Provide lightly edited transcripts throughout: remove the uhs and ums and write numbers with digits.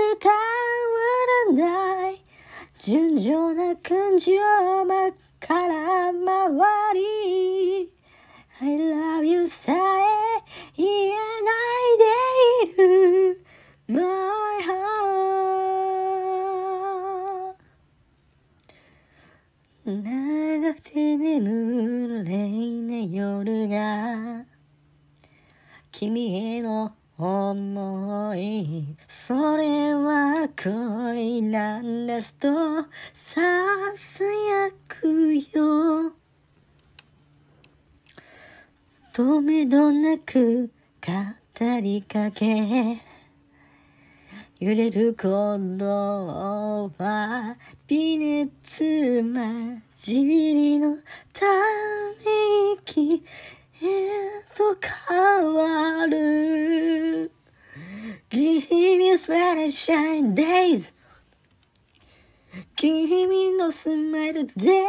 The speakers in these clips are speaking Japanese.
わらない純情な感情ばから回り I love you さえ言えないでいる My heart 長くて眠れない夜が君への思いそれは恋なんですとささやくよとめどなく語りかけ揺れる頃は微熱混じりのため息へと変わる Give me a smile and shine days 君のスマイルで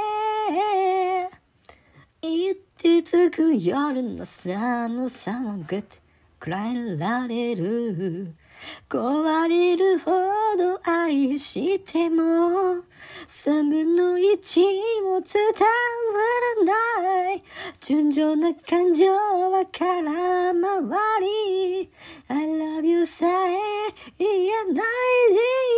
言ってつく夜の寒さもぐっとくらえられる壊れるほど愛しても三分の一も伝わらない純情な感情は空回り I love you さえ言えないで